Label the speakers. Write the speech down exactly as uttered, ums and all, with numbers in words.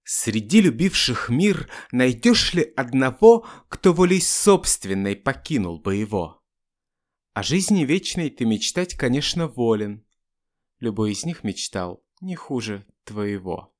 Speaker 1: Среди любивших мир найдешь ли одного, кто волей собственной покинул бы его? О жизни вечной ты мечтать, конечно, волен. Любой из них мечтал не хуже твоего.